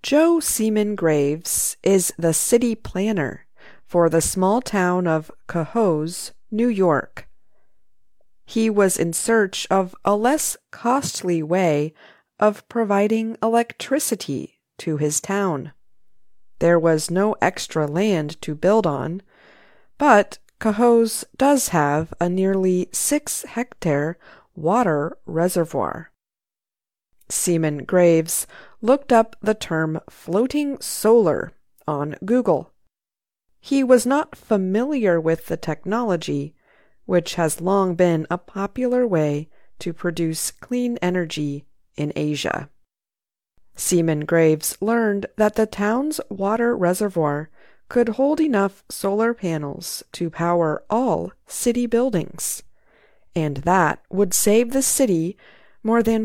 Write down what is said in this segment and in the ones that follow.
Joe Seaman Graves is the city planner for the small town of Cohoes, New York. He was in search of a less costly way of providing electricity to his town. There was no extra land to build on, but Cohoes does have a nearly 6-hectare water reservoir. Seaman Graves looked up the term floating solar on Google. He was not familiar with the technology, which has long been a popular way to produce clean energy in Asia. Seaman Graves learned that the town's water reservoir could hold enough solar panels to power all city buildings, and that would save the city more than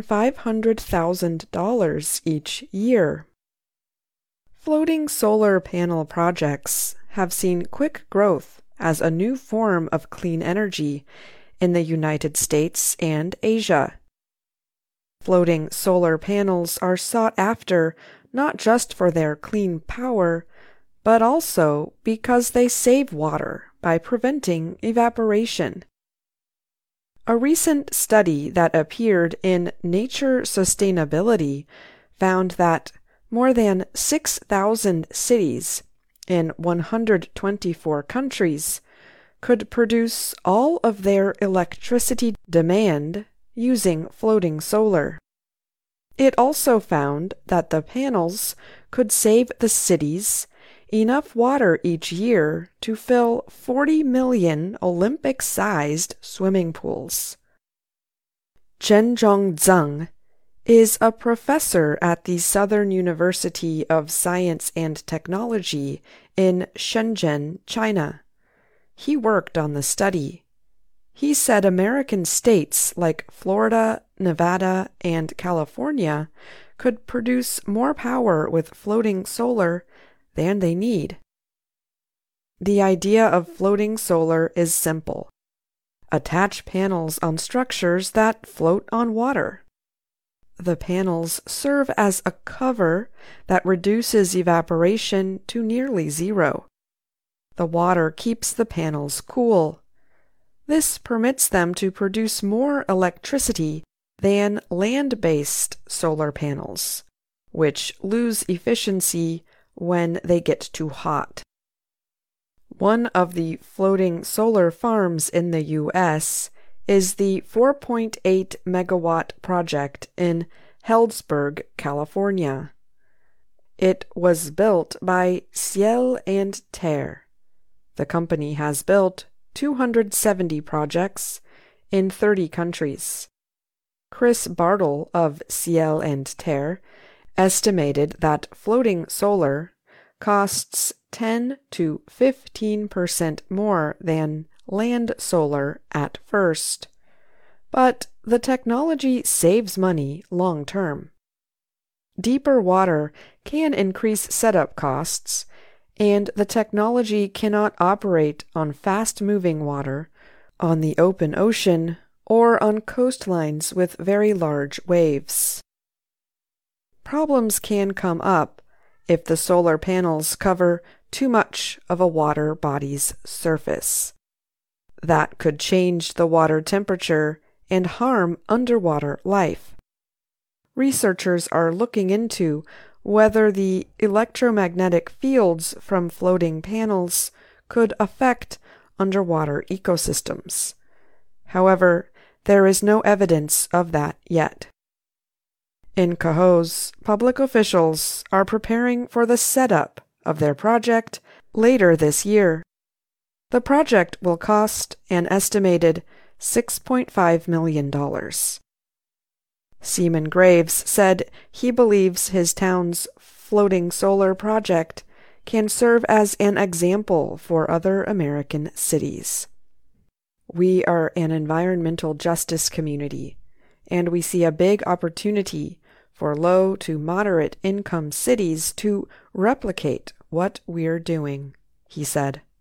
$500,000 each year. Floating solar panel projects have seen quick growth as a new form of clean energy in the United States and Asia. Floating solar panels are sought after not just for their clean power, but also because they save water by preventing evaporation. A recent study that appeared in Nature Sustainability found that more than 6,000 cities in 124 countries could produce all of their electricity demand using floating solar. It also found that the panels could save the cities enough water each year to fill 40 million Olympic-sized swimming pools. Zhenzhong Zeng is a professor at the Southern University of Science and Technology in Shenzhen, China. He worked on the study. He said American states like Florida, Nevada, and California could produce more power with floating solar than they need. The idea of floating solar is simple. Attach panels on structures that float on water. The panels serve as a cover that reduces evaporation to nearly zero. The water keeps the panels cool. This permits them to produce more electricity than land-based solar panels, which lose efficiency when they get too hot. One of the floating solar farms in the U.S. is the 4.8 megawatt project in Healdsburg, California. It was built by Ciel and Terre. The company has built 270 projects in 30 countries. Chris Bartle of Ciel and Terre estimated that floating solar costs 10 to 15% more than land solar at first, but the technology saves money long term. Deeper water can increase setup costs, and the technology cannot operate on fast-moving water, on the open ocean, or on coastlines with very large waves. Problems can come up if the solar panels cover too much of a water body's surface. That could change the water temperature and harm underwater life. Researchers are looking into whether the electromagnetic fields from floating panels could affect underwater ecosystems. However, there is no evidence of that yet. In Cohoes, public officials are preparing for the setup of their project later this year. The project will cost an estimated $6.5 million. Seaman Graves said he believes his town's floating solar project can serve as an example for other American cities. We are an environmental justice community, and we see a big opportunity for low to moderate income cities to replicate what we're doing, he said.